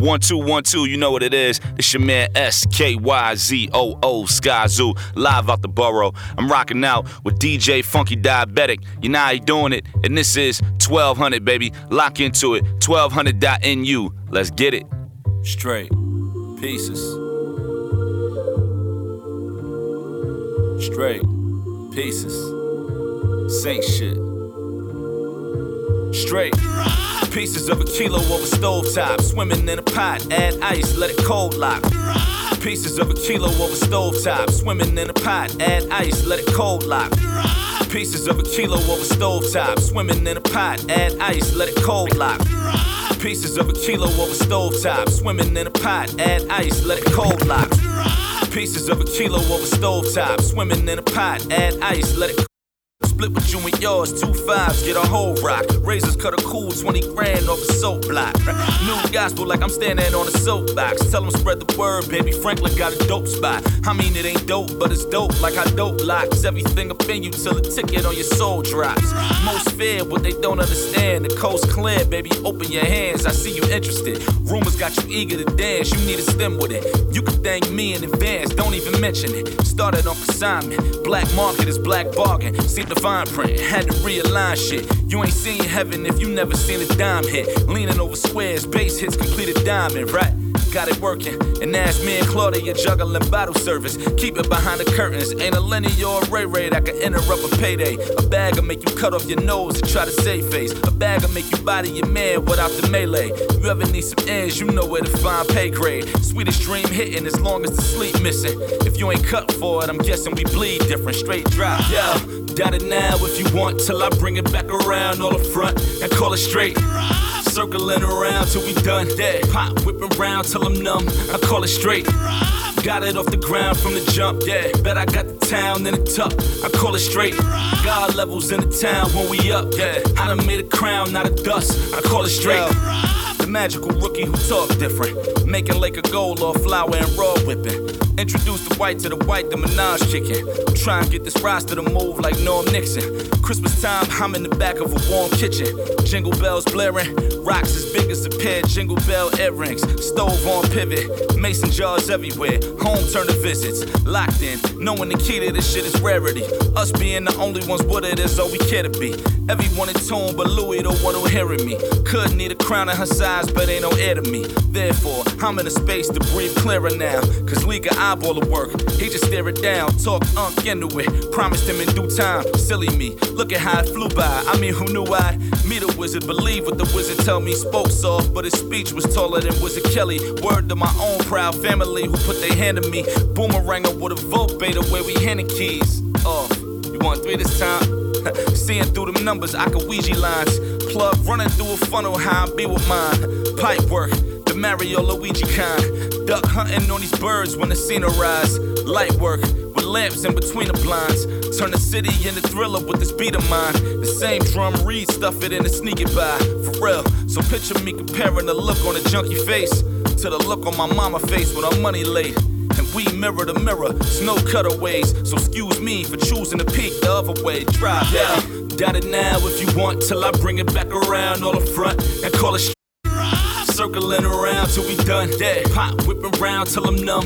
1212, you know what it is. It's your man SKYZOO, Sky Zoo, live out the borough. I'm rocking out with DJ Funky Diabetic. You know how he doing it. And this is 1200, baby. Lock into it. 1200.NU. Let's get it. Straight. Pieces. Straight. Pieces. Same shit. Straight. Pieces of a kilo over stovetop. Swimming in a pot, add ice, let it cold lock. Pieces of a kilo over stovetop. Swimming in a pot, add ice, let it cold lock. Pieces of a kilo over stovetop. Swimming in a pot, add ice, let it cold lock. Pieces of a kilo over stovetop. Swimming in a pot, add ice, let it cold lock. Pieces of a kilo over stovetop. Swimming in a pot, add ice, let it split with you and yours, 2 5s, get a whole rock. Razors cut a cool 20 grand off a soap block. New gospel like I'm standing on a soapbox. Tell them spread the word, baby Franklin got a dope spot. I mean it ain't dope, but it's dope like how dope locks everything up in you till the ticket on your soul drops. Most fear what they don't understand. The coast clear, baby, open your hands, I see you interested. Rumors got you eager to dance, you need a stem with it. You can thank me in advance, don't even mention it. Started on consignment, black market is black bargain. See the fine print, had to realign shit. You ain't seen heaven if you never seen a dime hit. Leaning over squares, bass hits completed diamond, right? Got it working, and ask me and Claudia juggling bottle service. Keep it behind the curtains, ain't a Lenny or a Ray Ray that can interrupt a payday. A bag'll make you cut off your nose and try to save face. A bag'll make you body your man without the melee. You ever need some ends, you know where to find pay grade. Sweetest dream hitting as long as the sleep missing. If you ain't cut for it, I'm guessing we bleed different. Straight drop, yo. Got it now if you want, till I bring it back around all the front and call it straight. Circling around till we done, yeah. Pop whipping round till I'm numb, I call it straight. Got it off the ground from the jump, yeah. Bet I got the town in the tuck, I call it straight. God levels in the town when we up, yeah. I done made a crown, not a dust, I call it straight. The magical rookie who talk different, making Lake of gold off flour and raw whipping. Introduce the white to the white, the Minaj chicken. I'm trying to get this roster to move like Norm Nixon. Christmas time, I'm in the back of a warm kitchen. Jingle bells blaring, rocks as big as a pair of jingle bell earrings. Stove on pivot, mason jars everywhere. Home turn to visits, locked in, knowing the key to this shit is rarity. Us being the only ones with it is all we care to be. Everyone in tune, but Louis the one who hearing me. Could need a crown of her size, but ain't no heir to me. Therefore, I'm in a space to breathe clearer now. Cause Lee got eyeball the work, he just stare it down. Talk into it, promised him in due time. Silly me, look at how it flew by. I mean, who knew I'd meet a wizard? Believe what the wizard tell me. Spoke soft, but his speech was taller than Wizard Kelly. Word to my own proud family who put their hand on me. Boomeranger with a vote beta where we handing keys. Off, you want 3 this time? Seeing through them numbers, I can Ouija lines. Plug running through a funnel, how I be with mine. Pipe work, the Mario Luigi kind. Duck hunting on these birds when the scene arise. Light work, with lamps in between the blinds. Turn the city into Thriller with this beat of mine. The same drum read, stuff it in and sneak it by. For real, so picture me comparing the look on a junkie face to the look on my mama face with her money laid. And we mirror to mirror, it's no cutaways. So excuse me for choosing to peek the other way. Drive, yeah. Got it now if you want, till I bring it back around all the front and call it circling around till we done, yeah. Pop whipping round till I'm numb.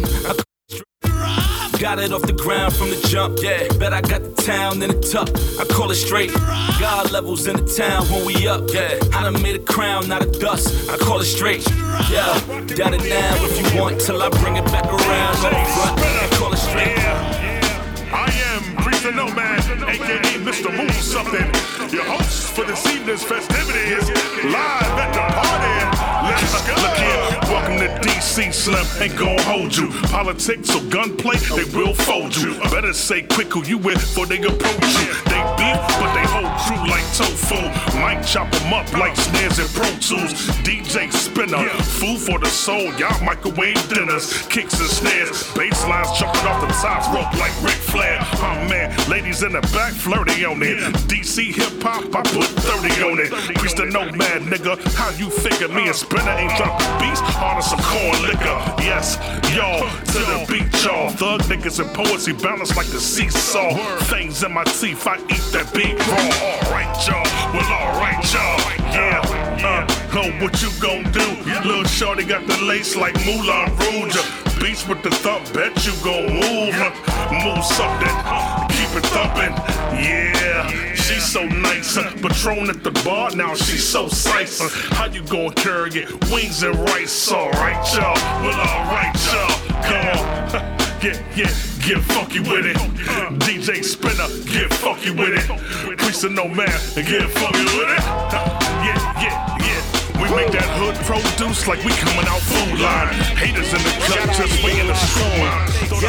Got it off the ground from the jump, yeah. Bet I got the town in the tuck, I call it straight. God levels in the town when we up, yeah. I done made a crown, not a dust, I call it straight. Yeah, got it now if you want, till I bring it back around on the front, I call it straight. I am Priest the Nomad, aka Mr. Move Something, your host for this evening's festivities, live at the party. Let's go. Look here, welcome to DC Slim, ain't gon' hold you. Politics or gunplay, they will fold you. Better say quick who you with before they approach you. They beef, but they hold true like tofu. Might chop them up like snares and Pro Tools. DJ Spinner, food for the soul, y'all microwave dinners. Kicks and snares, bass lines jumping off the top rope like Ric Flair. Oh man, ladies in the back flirty on it. DC hip hop, I put 30 on it. Priest the Nomad, nigga, how you figure me and Spinner ain't dropped the beats on some corn liquor? Yes, y'all, to the beat, y'all. Thug niggas and poetry balance like the seesaw. Fangs in my teeth, I eat that beat raw. Alright, y'all, well, alright, y'all. Yeah, Oh, what you gon' do? Little shorty got the lace like Moulin Rouge. Beats with the thump, bet you gon' move. Move something, keep it thumping. Yeah, she's so nice. Patron at the bar, now she's so sice. How you gon' carry it? Wings and rice, alright, y'all. Well, alright, y'all. Come on. Get funky with it. DJ Spinner, get funky with it. Priest of No Man, get funky with it. Yeah. We make that hood produce like we coming out food line. Haters in the cut, just waiting to screw mine.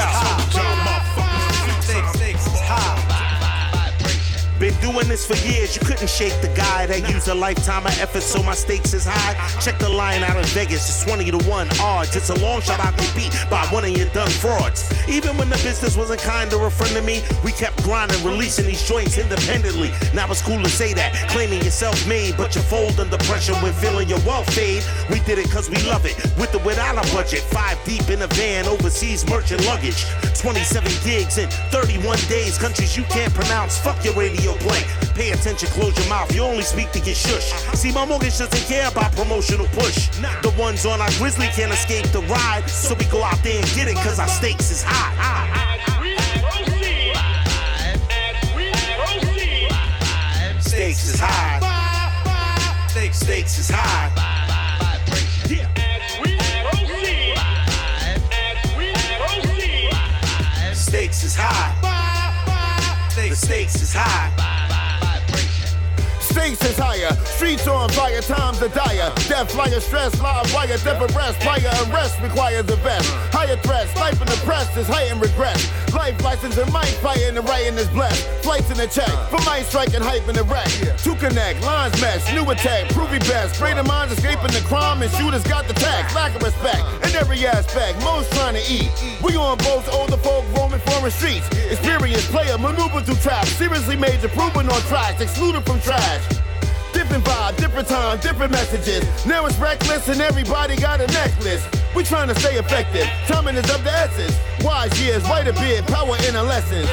Stakes is high. Been doing this for years, you couldn't shake the guy that used a lifetime of effort, so my stakes is high. Check the line out in Vegas, it's 20-1 odds. It's a long shot I get beat by one of your done frauds. Even when the business wasn't kind or a friend to me, we kept grinding, releasing these joints independently. Now it's cool to say that, claiming you're self-made, but you fold under pressure when feeling your wealth fade. We did it cause we love it, with or without a budget. 5 deep in a van, overseas merchant luggage. 27 gigs in 31 days, countries you can't pronounce, fuck your radio play. Pay attention, close your mouth, you only speak to get shush. See, my mortgage doesn't care about promotional push. The ones on our Grizzly can't escape the ride, so we go out there and get it cause our stakes is high. Stakes is high. Stakes is high. Yeah. Stakes is high. The stakes is high. Stakes is higher, streets on fire, times are dire. Death, flyer, stress, live wire, death arrest, fire arrest requires a vest. Higher threats, life in the press is heightened regret. Life license and mic fighting the right is blessed. Flights in the check, for mic striking hype in the wreck. To connect, lines mesh, new attack, prove your best. Greater minds escaping the crime and shooters got the tax. Lack of respect in every aspect, most trying to eat. We on boats, older folk roaming foreign streets. Experienced player, maneuver through traps. Seriously major, proven on tracks, excluded from trash. Different vibe, different time, different messages. Now it's reckless and everybody got a necklace. We trying to stay effective, timing is of the essence. Wise years, white a beard, power in a lesson.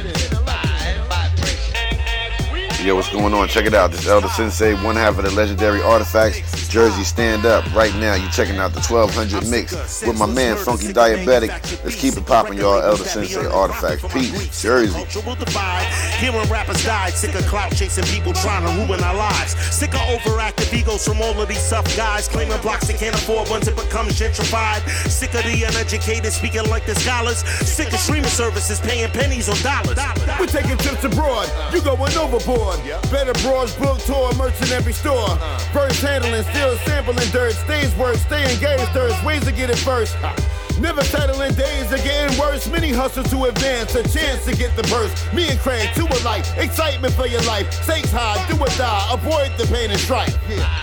Yo, what's going on? Check it out. This is Elder Sensei, one half of the legendary Artifacts. Jersey, stand up. Right now, you're checking out the 1200 mix with my man, Funky Diabetic. Let's keep it popping, y'all. Elder Sensei, Artifacts. Peace. Jersey. Hearing rappers die, sick of clout chasing people trying to ruin our lives. Sick of overactive egos from all of these tough guys claiming blocks they can't afford once it becomes gentrified. Sick of the uneducated speaking like the scholars. Sick of streaming services paying pennies on dollars. We taking trips abroad, you going overboard. Better broads, book tour, merch in every store. First handling, still sampling dirt. Stage work, stay engaged, there's ways to get it first. Never settling, days are getting worse. Many hustle to advance, a chance to get the burst. Me and Craig, two alike, excitement for your life. Stakes high, do or die, avoid the pain and strife.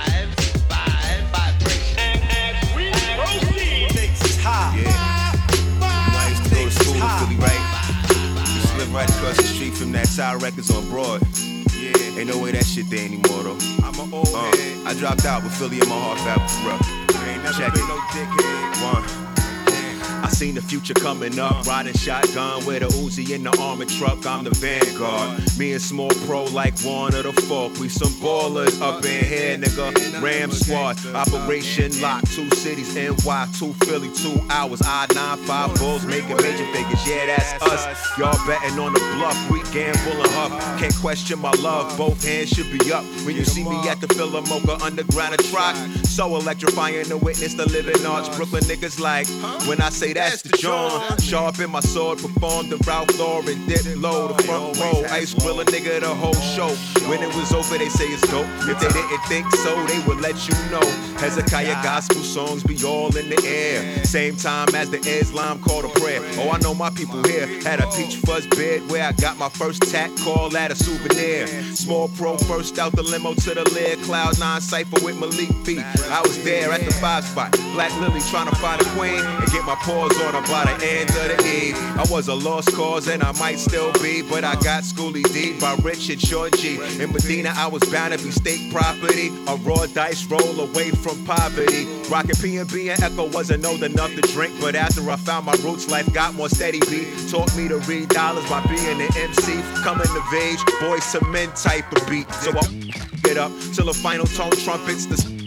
Stakes is high. Yeah. I used to go to school in Philly, right? Used to live right across the street from that Tower Records on Broad. Yeah, ain't no way that shit there anymore though. I'm an old head. I dropped out with Philly in my heart, bro. Ain't never Check been it. No dickhead. One. I seen the future coming up, riding shotgun with a Uzi in the armored truck. I'm the vanguard. Me and Small Pro like one of the folk. We some ballers up in here, nigga. Ram Squad, Operation Lock, 2 cities, NY, 2 Philly, 2 hours. I-95 Bulls making major figures. Yeah, that's us. Y'all betting on the bluff. We gambling up. Can't question my love. Both hands should be up. When you see me at the Philamoka Underground a Troc, so electrifying to witness the living arts. Brooklyn niggas like when I say that's the John. Sharp in my sword, performed the Ralph Lauren, dip low, the front row. Ice grill a nigga the whole show. When it was over, they say it's dope. If they didn't think so, they would let you know. Hezekiah gospel songs be all in the air. Same time as the Islam call to prayer. Oh, I know my people here had a peach fuzz bed where I got my first tat call at a souvenir. Small Pro first out the limo to the lid. Cloud 9 cypher with Malik B. I was there at the 5 spot. Black Lily trying to find a queen and get my paws on her by the end of the eve. I was a lost cause and I might still be, but I got Schoolie D by Richard Short G. In Medina, I was bound to be state property. A raw dice roll away from poverty. Rockin' P&B and Echo wasn't old enough to drink, but after I found my roots, life got more steady beat. Taught me to read dollars by being an MC. Coming of age, boys to men type of beat. So I get up till the final tone trumpets.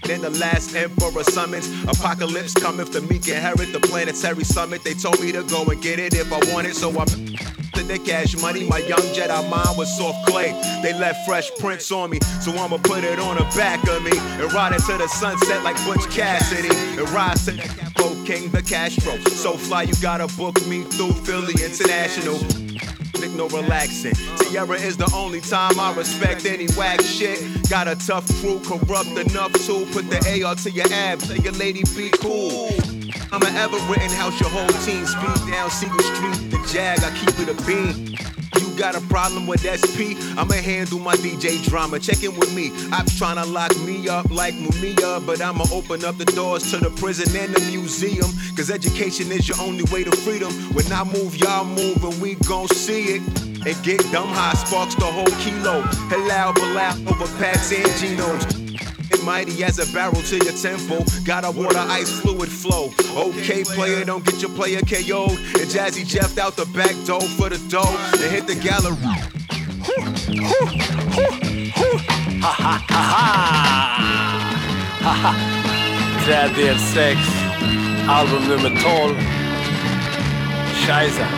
than the last emperor summons. Apocalypse coming for me, inherit the planetary summit. They told me to go and get it if I want it, so I'm to the cash money. My young Jedi mind was soft clay. They left Fresh Prince on me, so I'ma put it on the back of me and ride it to the sunset like Butch Cassidy and rise to the Capo King, the Castro. So fly, you gotta book me through Philly International. No relaxing. Sierra is the only time I respect any whack shit. Got a tough crew, corrupt enough to put the AR to your abs. Tell your lady be cool. I'm an Everett house, your whole team speed down Seagull Street. The Jag, I keep it a beam. You got a problem with SP? I'ma handle my DJ drama. Check in with me. I'm tryna lock me up like Mumia, but I'ma open up the doors to the prison and the museum. Cause education is your only way to freedom. When I move, y'all move, and we gon' see it. And get dumb high, sparks the whole kilo. Halal, balal, over packs and genomes. Mighty as a barrel to your temple. Got a water ice fluid flow. Okay, player, don't get your player KO'd. And Jazzy Jeff out the back door for the dough and hit the gallery. Ha ha ha ha ha ha. Träddel 6, album nummer 12. Scheisse.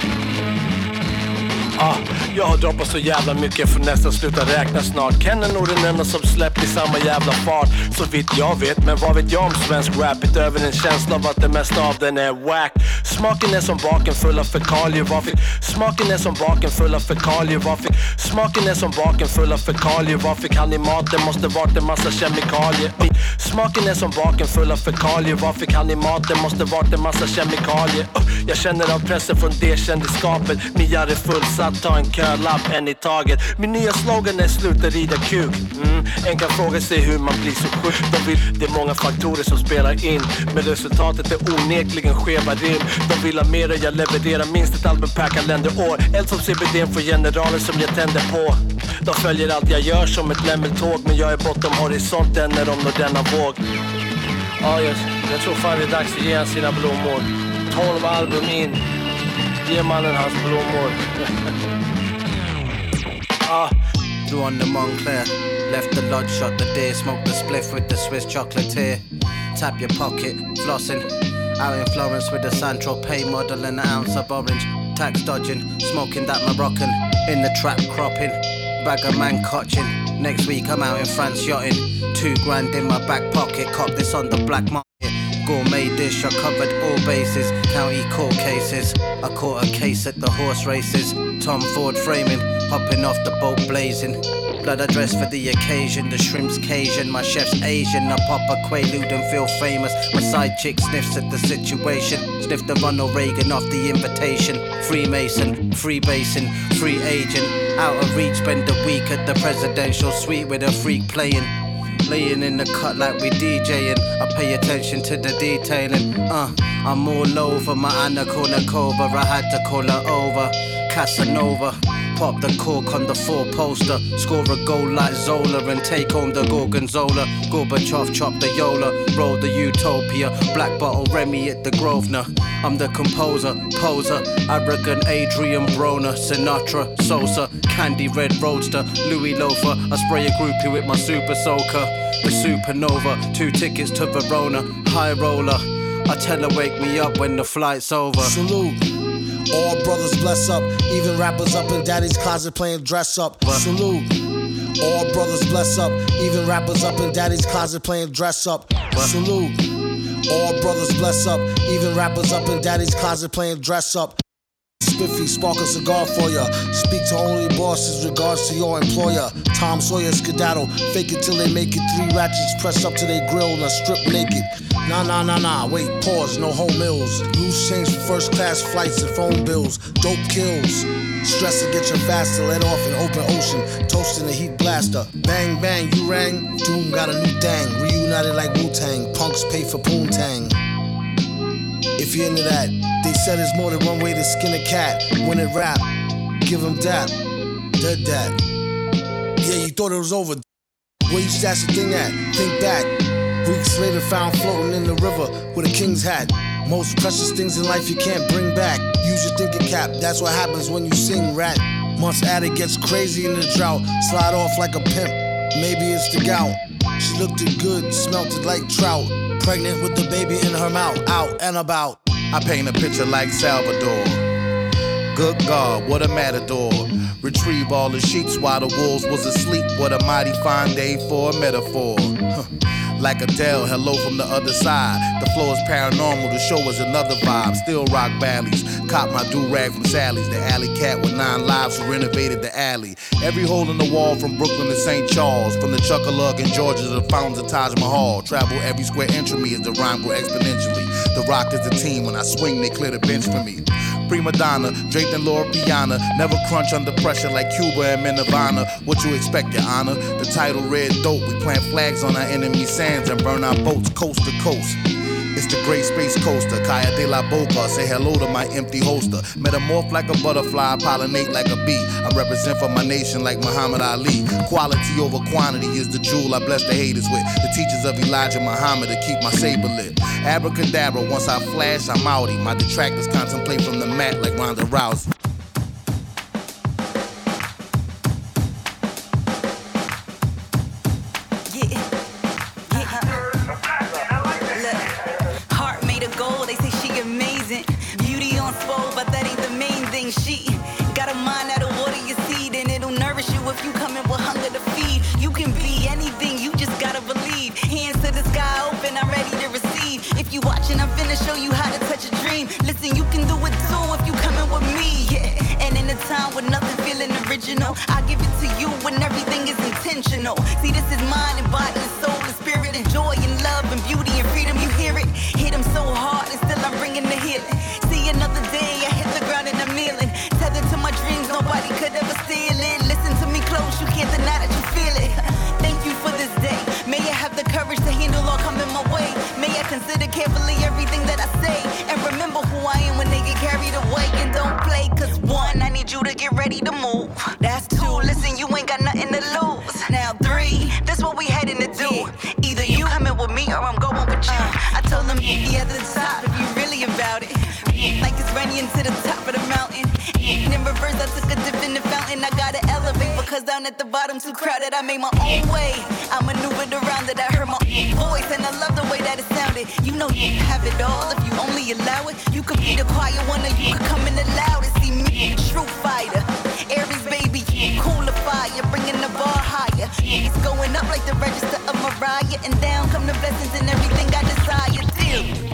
Jag har droppat så jävla mycket för nästan sluta räkna snart. Ken är nog den enda som släppt i samma jävla fart, så vitt jag vet. Men vad vet jag om svensk rap utöver en känsla av att det mesta av den är whack. Smaken är som baken full av fekalier. Smaken är som baken full av fekalier. Smaken är som baken full av fekalier. Vad fick han i maten? Måste varit en massa kemikalier. Smaken är som baken full av fekalier. Vad fick han i maten? Måste varit en massa kemikalier. Jag känner av pressen från det kändisskapet. Miar är fullsatt, ta en kölapp, en i taget. Min nya slogan är sluta rida kuk. En kan fråga sig hur man blir så sjuk. Det är många faktorer som spelar in, men resultatet är onekligen skeva rim. De vill ha mer och jag levererar minst ett album per kalenderår. Eld som CBD för generaler som jag tänder på. De följer allt jag gör som ett lämmeltåg, men jag är bortom horisonten när de når denna våg. Jag tror fan det är dags att ge han sina blommor. 12 album in. Ge mannen hans blommor. Drew on the Montclair. Left the lodge, shot the day. Smoked the spliff with the Swiss chocolatier. Tap your pocket, flossing. Out in Florence with the Saint-Tropez model and an ounce of orange. Tax dodging, smoking that Moroccan. In the trap cropping, bag of man cotching. Next week I'm out in France yachting. $2,000 in my back pocket, cop this on the black market. Gourmet dish, I covered all bases. County court cases, I caught a case at the horse races. Tom Ford framing, hopping off the boat blazing. Blood I dress for the occasion, the shrimp's Cajun, my chef's Asian. I pop a Quaalude and feel famous. My side chick sniffs at the situation. Sniff the Ronald Reagan off the invitation. Freemason, freebasing, free agent. Out of reach, spend a week at the presidential suite with a freak playing. Laying in the cut like we DJing. I pay attention to the detailing. I'm all over my Anna Kournikova. I had to call her over. Casanova. Pop the cork on the 4-poster. Score a goal like Zola and take home the Gorgonzola. Gorbachev chop the Yola. Roll the Utopia. Black bottle Remy at the Grosvenor. I'm the composer, poser. Arrogant Adrian Broner. Sinatra, Sosa. Candy Red Roadster. Louis Loafer. I spray a groupie with my super soaker. The supernova. 2 tickets to Verona. High roller. I tell her wake me up when the flight's over. Salute. All brothers bless up. Even rappers up in daddy's closet playing dress up. Salute. All brothers bless up. Even rappers up in daddy's closet playing dress up. Salute. All brothers bless up. Even rappers up in daddy's closet playing dress up. Spiffy, spark a cigar for ya. Speak to only bosses, regards to your employer. Tom Sawyer skedaddle, fake it till they make it. 3 ratchets press up to their grill and strip naked. Nah, wait, pause, no home meals. Loose change for first class flights and phone bills. Dope kills. Stress to get you faster, let off in open ocean. Toasting the heat blaster. Bang, bang, you rang. Doom got a new thing. Reunited like Wu-Tang. Punks pay for Poontang. If you're into that, they said there's more than one way to skin a cat. When it rap, give them dap. Dead that. Yeah, you thought it was over. Where you stash the thing at? Think back. Weeks later found floating in the river with a king's hat. Most precious things in life you can't bring back. Use your thinking cap, that's what happens when you sing rat. Months at it gets crazy in the drought. Slide off like a pimp. Maybe it's the gout. She looked it good, smelt it like trout. Pregnant with the baby in her mouth, out and about. I paint a picture like Salvador. Good God, what a matador. Retrieve all the sheeps while the wolves was asleep. What a mighty fine day for a metaphor. Like Adele, hello from the other side. The flow is paranormal, the show is another vibe. Still rock valleys, cop my do-rag from Sally's. The alley cat with 9 lives who renovated the alley. Every hole in the wall from Brooklyn to St. Charles. From the Chuckalug in Georgia to the fountains of Taj Mahal. Travel every square inch of me as the rhyme grow exponentially. The Rock is the team, when I swing they clear the bench for me. Prima donna, draped in Laura Piana. Never crunch under pressure like Cuba and Nirvana. What you expect, your honor? The title Red Dope. We plant flags on our enemy sands and burn our boats coast to coast. It's the Great Space Coaster, Kaya de la Boca. Say hello to my empty holster. Metamorph like a butterfly, pollinate like a bee. I represent for my nation like Muhammad Ali. Quality over quantity is the jewel I bless the haters with. The teachers of Elijah Muhammad to keep my saber lit. Abracadabra, once I flash, I'm outie. My detractors contemplate from the mat like Ronda Rousey. She got a mind that'll water your seed, and it'll nourish you if you come in with hunger to feed. You can be anything, you just gotta believe. Hands to the sky open, I'm ready to receive. If you watching, I'm finna show you how to touch a dream. Listen, you can do it too if you coming with me, yeah. And in a time with nothing feeling original, I give it to you when everything is intentional. See, this is mind and body and soul and spirit and joy and love and beauty and freedom. You hear it? Hit them so hard and still I'm bringing the healing. See another day, I hit the ground and I'm kneeling. Tethered to my dreams, nobody could ever steal it. Listen to me close, you can't deny that you feel it. Thank you for this day. May I have the courage to handle all coming my way. May I consider carefully everything that I say. And remember who I am when they get carried away. And don't play, cause 1, I need you to get ready to move. That's 2, listen, you ain't got nothing to lose. Now 3, that's what we heading to do. Either you coming with me or I'm going with you. I told them, yeah, at the top if you really about it. Like it's running to the top of the mountain. In reverse, I took a dip in the fountain. I gotta elevate because down at the bottom too crowded. I made my own way. I maneuvered around it. I heard my voice and I love the way that it sounded. You know you have it all if you only allow it. You could be the quiet one or you could come in the loudest. See me, true fighter. Aries baby, cooler fire, bringing the bar higher. It's going up like the register of Mariah, and down come the blessings and everything I desire. Deal.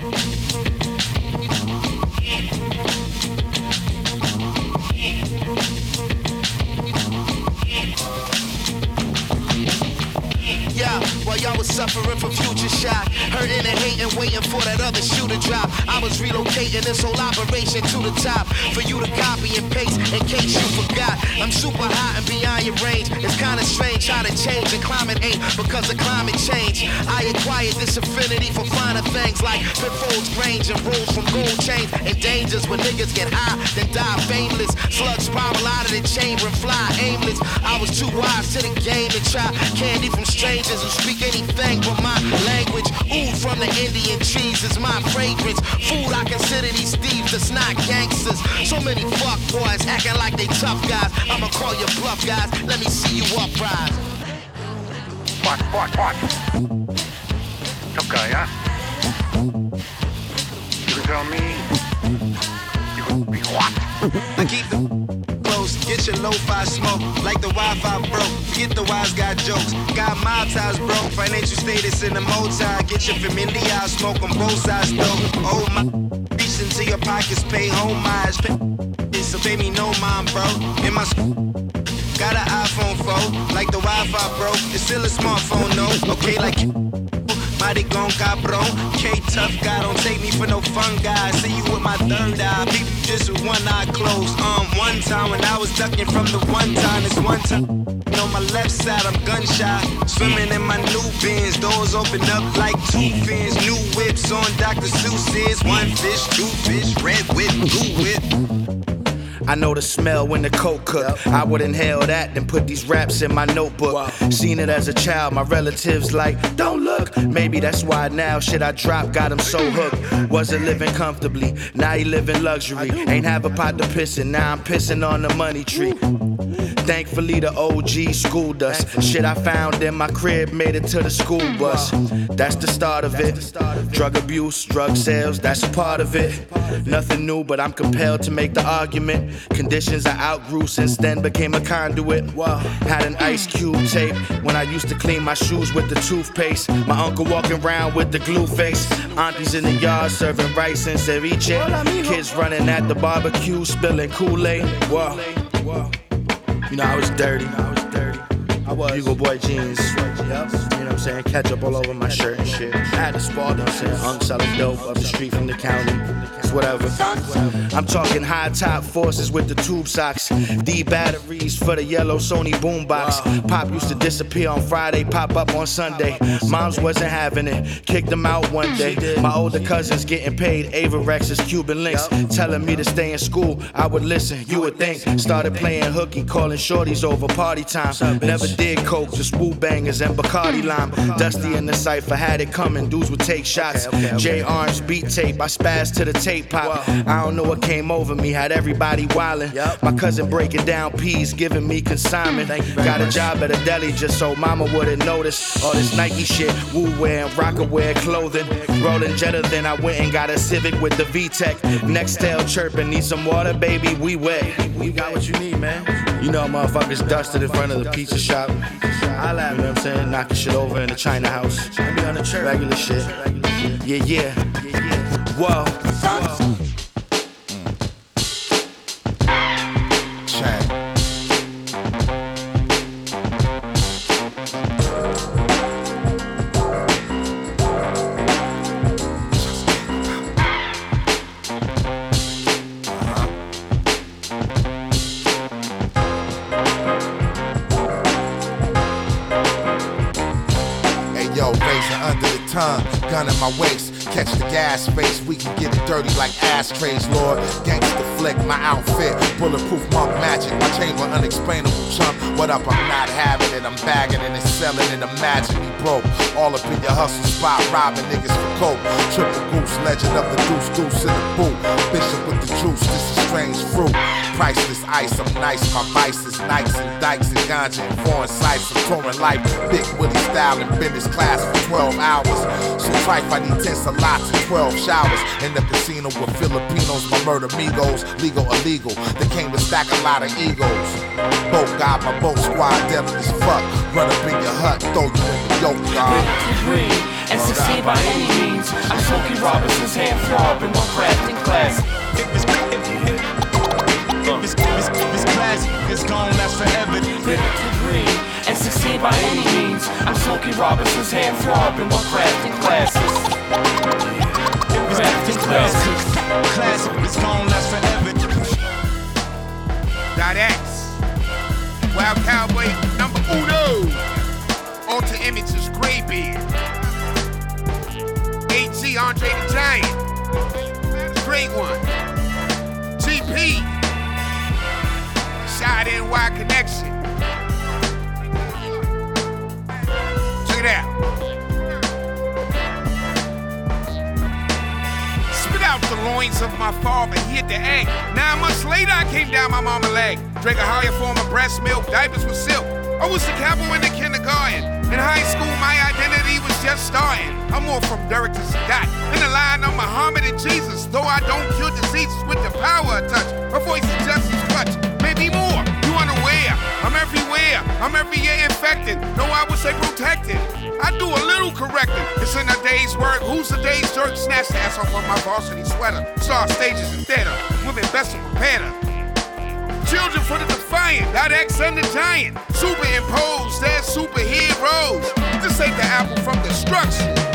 While y'all was suffering from future shock, hurting and hating, waiting for that other shoe to drop. I was relocating this whole operation to the top for you to copy and paste in case you forgot. I'm super hot and beyond your range. It's kinda strange how to change and climate ain't because of climate change. I acquired this affinity for finer things like pitfalls, range, and rules from gold chains and dangers when niggas get high, then die fameless. Slugs spiral out of the chamber and fly aimless. I was too wise to the game to try candy from strangers who speak anything but my language. Oud from the Indian trees is my fragrance. Food, I consider these thieves that's not gangsters. So many fuck boys acting like they tough guys. I'ma call you bluff guys. Let me see you uprise. Watch. Tough guy, huh? You can tell me. You can be what? I keep the close, get your lo-fi smoke. Like the Wi-Fi broke, forget the wise guy jokes. Got mob ties broke, financial status in the multi. Get your familiar, smoke on both sides though. Oh my, reach into your pockets, pay homage. So pay me no mind, bro. In my got an iPhone 4, like the Wi-Fi broke. It's still a smartphone, no. Okay, like mighty gon' cabron. K-tough guy, don't take me for no fun guy. See you with my third eye, peep you just with one eye closed. One time when I was ducking from the one time, it's one time. On my left side, I'm gunshot. Swimming in my new bins, doors open up like 2 fins. New whips on Dr. Seuss's. 1 fish, 2 fish, red whip, blue whip. I know the smell when the coke cook. I would inhale that, then put these raps in my notebook. Seen it as a child, my relatives like, don't look. Maybe that's why now shit I dropped got him so hooked. Wasn't living comfortably, now he live in luxury. Ain't have a pot to piss in, now I'm pissing on the money tree. Thankfully the OG schooled us. Shit I found in my crib made it to the school bus. That's the start of it. Drug abuse, drug sales, that's a part of it. Nothing new, but I'm compelled to make the argument. Conditions I outgrew since then became a conduit. Had an Ice Cube tape when I used to clean my shoes with the toothpaste. My uncle walking around with the glue face. Aunties in the yard serving rice and ceviche. Kids running at the barbecue spilling Kool-Aid. You know, I was dirty. I was. Bugle Boy jeans. Yep. You know what I'm saying? Ketchup all over my shirt and shit. I had to spar, you know what I'm saying? Unk selling dope up the street from the county. It's whatever. I'm talking high top forces with the tube socks. D batteries for the yellow Sony boombox. Pop used to disappear on Friday, pop up on Sunday. Moms wasn't having it. Kicked them out one day. My older cousins getting paid Averex's Cuban links. Telling me to stay in school. I would listen, you would think. Started playing hooky, calling shorties over party time. Never did coke, just woo bangers and Bacardi lime. Dusty in the cypher, had it coming, dudes would take shots. J Arms beat tape, I spazzed to the tape pop. I don't know what came over me, had everybody wildin'. My cousin breaking down peas, giving me consignment. Got a job at a deli just so mama wouldn't notice. All this Nike shit, woo wear and rocker wear clothing. Rolling Jetta, then I went and got a Civic with the VTEC. Nextel chirping, need some water, baby, we wet. We got what you need, man. You know motherfuckers dusted in front of the pizza shop. I laugh, you know what I'm saying? Knocking shit over in the China house. I be on the church. Regular shit. Yeah. Whoa. Gun in my waist, catch the gas face, we can get it dirty like ashtrays, Lord. Gangsta flick, my outfit, bulletproof monk magic, my chamber unexplainable chump. What up, I'm not having it, I'm bagging it and selling it, imagine me broke. All up in your hustle spot, robbing niggas for coke. Triple goose, legend of the deuce in the boot. Bishop with the juice, this is strange fruit. Priceless ice, I'm nice, my vices, Nikes and dykes and ganja and foreign sights. I'm touring life, Big Willie style in business class for 12 hours. So trife, I need 10 salats and 12 showers. In the casino with Filipinos, my murder amigos, legal, illegal. They came to stack a lot of egos. Boat got my boat squad, deadly as fuck. Run up in your hut, throw you in the yoke, dog. And succeed by any means. I'm Smokey Robinson's hand throb in my crafting class. This class is gonna last forever. And succeed by any means. I'm Smokey Robinson's hand throb in my crafting classes. Crafting classes. Classic is gonna last forever. .X Wild Cowboy number uno. Alter Images Greybeard. AG Andre the Giant. Great one. GP. Shot NY Connection. Check it out. Spit out the loins of my father, he hit the egg. 9 months later, I came down my mama's leg. Drank a higher form of breast milk, diapers with silk. I was the capo in the kindergarten. In high school, my identity was just starting. I'm more from Derek to Sadat. In the line of Muhammad and Jesus. Though I don't cure diseases with the power of touch. My voice is just as clutch. Maybe more. You unaware. I'm everywhere. I'm every year infected. No, I would say protected. I do a little correcting. It's in a day's work. Who's the day's jerk? Snatch the ass off of my varsity sweater. Star stages and theater. Women best to prepare her. Children for the defiant, .X and the giant. Superimposed as superheroes. This ain't the apple from destruction.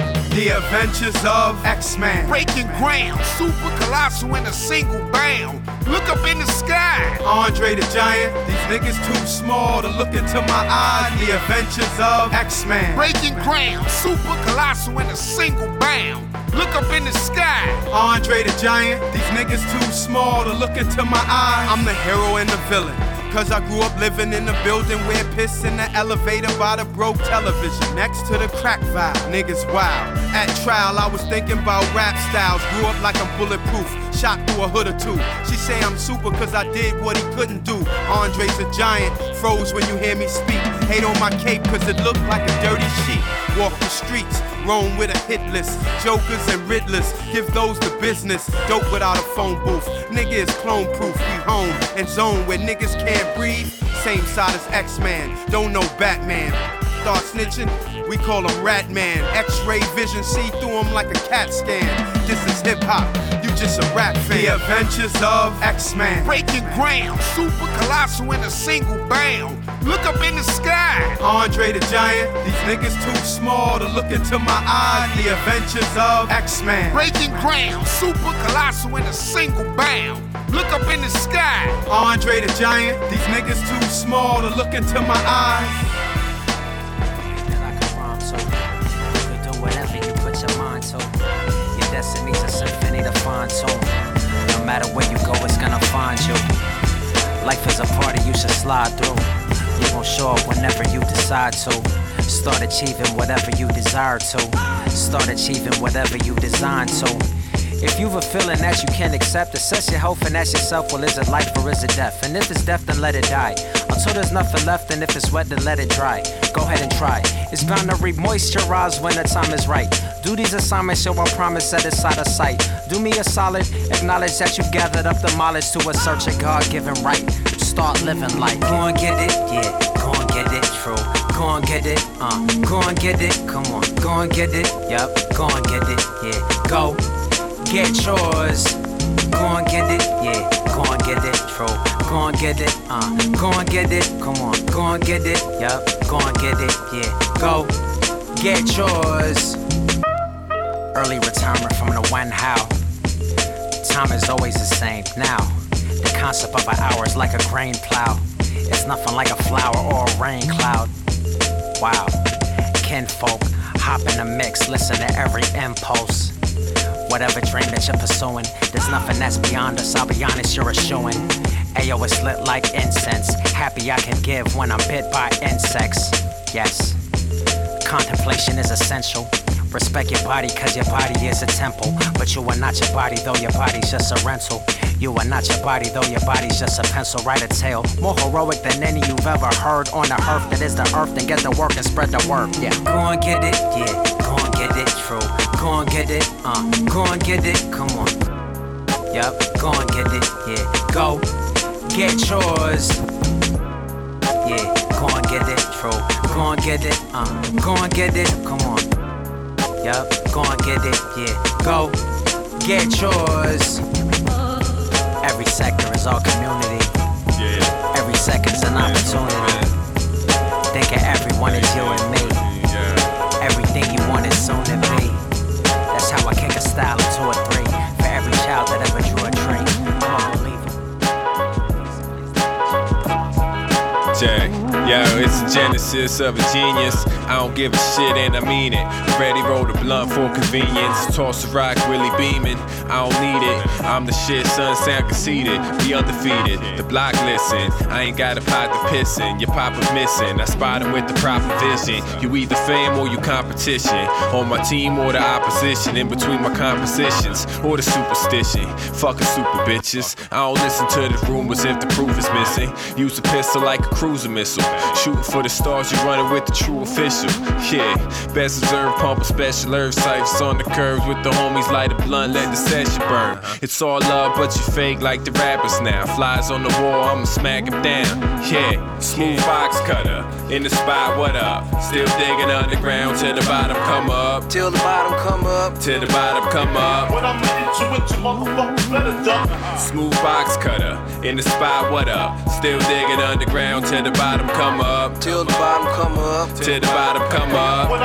The Adventures of X-Man. Breaking ground, super colossal in a single bound. Look up in the sky. Andre the Giant, these niggas too small to look into my eyes. The Adventures of X-Man. Breaking ground, super colossal in a single bound. Look up in the sky. Andre the Giant, these niggas too small to look into my eyes. I'm the hero and the villain. Cause I grew up living in a building where piss in the elevator by the broke television. Next to the crack vibe, niggas wild. At trial, I was thinking about rap styles. Grew up like I'm bulletproof, shot through a hood or two. She say I'm super cause I did what he couldn't do. Andre's a giant, froze when you hear me speak. Hate on my cape cause it looked like a dirty sheet. Walk the streets, roam with a hit list. Jokers and Riddlers, give those the business. Dope without a phone booth. Nigga is clone proof. We home and zone where niggas can't breathe. Same side as X-Man, don't know Batman. Start snitching, we call him Rat Man. X-ray vision, see through him like a CAT scan. This is hip-hop, you just a rap fan. The Adventures of X-Man. Breaking ground, super colossal in a single bound. Look up in the sky. Andre the Giant, these niggas too small to look into my eyes. The Adventures of X-Man. Breaking ground, super colossal in a single bound. Look up in the sky. Andre the Giant, these niggas too small to look into my eyes. Whatever you put your mind to, your destiny's a symphony to fine tune. No matter where you go, it's gonna find you. Life is a party you should slide through. You gon' show up whenever you decide to. Start achieving whatever you desire to. Start achieving whatever you design to. If you've a feeling that you can't accept, assess your health and ask yourself, well, is it life or is it death? And if it's death, then let it die. Until there's nothing left, and if it's wet, then let it dry. Go ahead and try. It's bound to re-moisturize when the time is right. Do these assignments, so I promise that it's out of sight. Do me a solid, acknowledge that you've gathered up the mileage to assert your God-given right. Start living like, go and get it, yeah, go and get it, true. Go and get it, go and get it, come on, go and get it, yup, go and get it, yeah, go. Get yours, go and get it, yeah, go and get it, true. Go and get it, go and get it, come on, go and get it, yup, go and get it, yeah, go. Get yours. Early retirement from the when, how. Time is always the same. Now, the concept of an hour is like a grain plow. It's nothing like a flower or a rain cloud. Wow, kinfolk, hop in the mix, listen to every impulse. Whatever dream that you're pursuing, there's nothing that's beyond us, I'll be honest, you're a shoo-in. Ayo, it's lit like incense, happy I can give when I'm bit by insects. Yes, contemplation is essential. Respect your body, cause your body is a temple. But you are not your body, though your body's just a rental. You are not your body, though your body's just a pencil. Write a tale, more heroic than any you've ever heard on the earth that is the earth. Then get the work and spread the word, yeah. Go and get it, yeah, go and get it, true. Go and get it, go and get it, come on. Yup, go and get it, yeah, go. Get yours. Yeah, go and get it, true. Go and get it, go and get it, come on. Yup, go and get it, yeah, go. Get yours. Every sector is our community. Yeah. Every second's an opportunity. Think of everyone as you and me. Everything you want is soon to be. That's how I kick a style into a 3. For every child that ever drew a tree. Jack, yo, it's the genesis of a genius. I don't give a shit and I mean it. Ready, roll the blunt for convenience. Toss a rock, really beaming. I don't need it. I'm the shit, son, sound conceited. We undefeated. The block listen. I ain't got a pot to piss in. Your papa missing. I spot him with the proper vision. You either fame or you competition. On my team or the opposition. In between my compositions or the superstition. Fucking super bitches. I don't listen to the rumors if the proof is missing. Use a pistol like a cruiser missile. Shooting for the stars, you running with the true official. Yeah, best reserved, pumping special herb sights on the curves with the homies, light a blunt, let the session burn. It's all love, but you fake like the rappers now. Flies on the wall, I'ma smack him down. Yeah, smooth box cutter in the spot, what up? Still digging underground till the bottom come up. Till the bottom come up. Till the bottom come up. When I'm into it, you motherfuckers better duck. Smooth box cutter in the spot, what up? Still digging underground till the bottom come up. Till the bottom come up. Till the bottom come up. When I'm into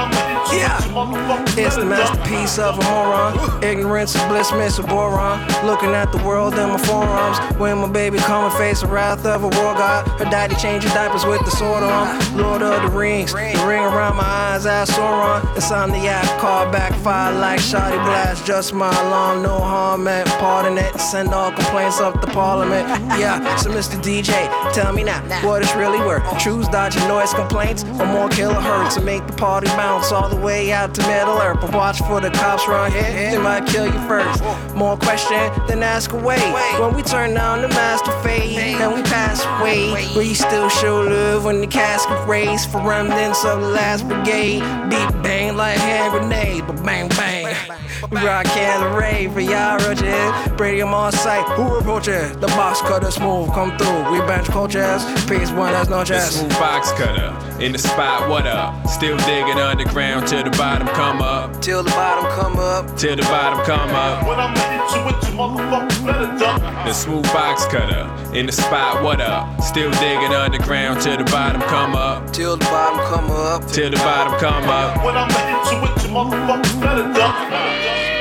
It's the masterpiece of a moron. Ignorance is bliss, miss a boron. Looking at the world in my forearms. When my baby come and face the wrath of a war god. Her daddy changes diapers with the sword on. Lord of the Rings, the ring around my eyes as Sauron. Insomniac, car backfire like shoddy blast. Just my alarm, no harm meant. Pardon it, send all complaints up to Parliament. Yeah, so Mr. DJ, tell me now what it's really worth. Choose dodging noise complaints or more kilohertz to make the party bounce all the way out to Middle Earth. But watch for the cops around here, they might kill you first. More question than ask away. When we turn down the master fade and we pass away, we still show love when the casket raised for remnants of the last brigade. Beat bang like hand grenade, but bang bang. We rock and rave for y'all roaches. Brady, I'm on site. Who approaches? The box cutter smooth, come through. We bench coaches. Peace one, that's no chance. The smooth box cutter in the spot, what up? Still digging underground till the bottom come up. Till the bottom come up. Till the bottom come up. When I'm into it, you motherfuckers better duck. The smooth box cutter in the spot, what up? Still digging underground till the bottom come up. Till the bottom come up. Till the bottom come up. When I'm into it, you motherfuckers better duck.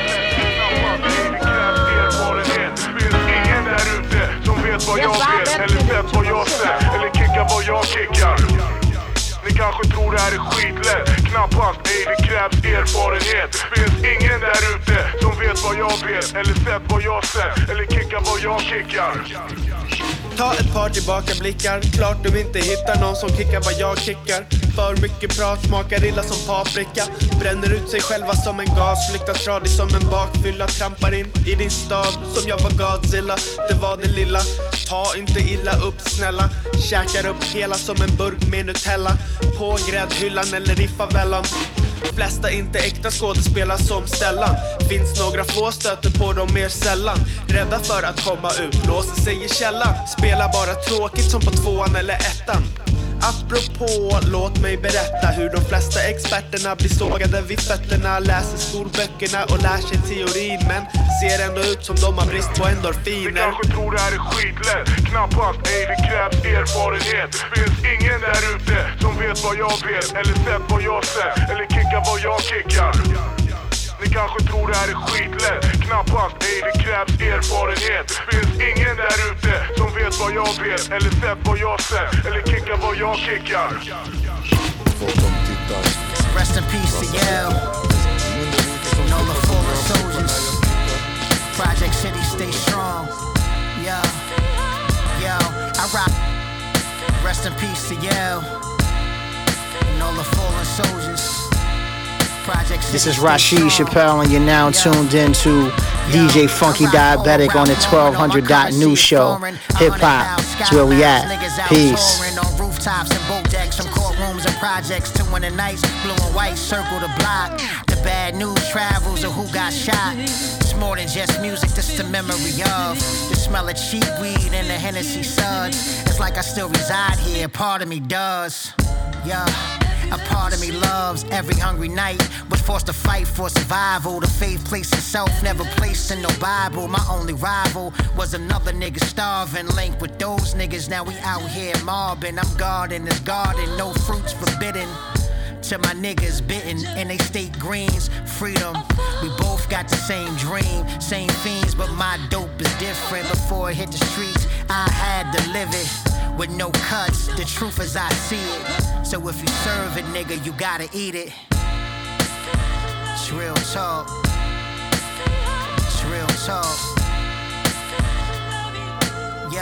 Vad jag vet, eller sett vad jag sett, eller kickar vad jag kickar. Ni kanske tror det här är skitlätt, knappast, ej det krävs erfarenhet. Finns ingen där ute som vet vad jag vet, eller sett vad jag sett, eller kickar vad jag kickar. Ta ett par tillbakablickar. Klart du inte hittar någon som kickar vad jag kickar. För mycket prat smakar illa som paprika. Bränner ut sig själva som en gas. Flyktar tradig som en bakfylla. Trampar in i din stad som jag var Godzilla. Det var det lilla. Ta inte illa upp snälla. Käkar upp hela som en burk med Nutella. På gräddhyllan eller i favelan. Flesta inte äkta skådespelare som Stellan. Finns några få, stöter på dem mer sällan. Rädda för att komma ut, låser sig i källan. Spelar bara tråkigt som på 2:an eller 1:an. Apropå, låt mig berätta hur de flesta experterna blir sågade vid fötterna. Läser skolböckerna och lär sig teorin, men ser ändå ut som de har brist på endorfiner. Ni kanske tror det här är skitlätt, knappast, ej det krävs erfarenhet. Finns ingen där ute som vet vad jag vet, eller sett vad jag sett, eller kickar vad jag kickar. Ni kanske tror det här är skitlätt, knappast, ej det krävs erfarenhet. Finns ingen där ute som vet vad jag vet, eller sett vad jag sett, eller kickar vad jag kickar. Rest in peace to Yale. Nola Fallen Soldiers. Project City stay strong. Yo, I rock. Rest in peace to Yale. Nola Fallen Soldiers. This is Rashid Chappelle, and you're now tuned in to DJ Funky Diabetic on the 1200.new show. Hip hop is where we at. Peace. Rooftops and boat decks, some courtrooms and projects. 2 in the nights, blue and white circle the block. The bad news travels of who got shot. It's more than just music, this the memory of the smell of cheap weed and the Hennessy suds. It's like I still reside here, part of me does. Yeah. A part of me loves every hungry night. Was forced to fight for survival. The faith placed itself, never placed in no Bible. My only rival was another nigga starving. Linked with those niggas, now we out here mobbing. I'm guarding this garden, no fruits forbidden. To my niggas bitten and they state greens, freedom. We both got the same dream, same fiends, but my dope is different. Before it hit the streets, I had to live it. With no cuts, the truth as I see it. So if you serve it, nigga, you gotta eat it. It's real talk. It's real talk. Yo.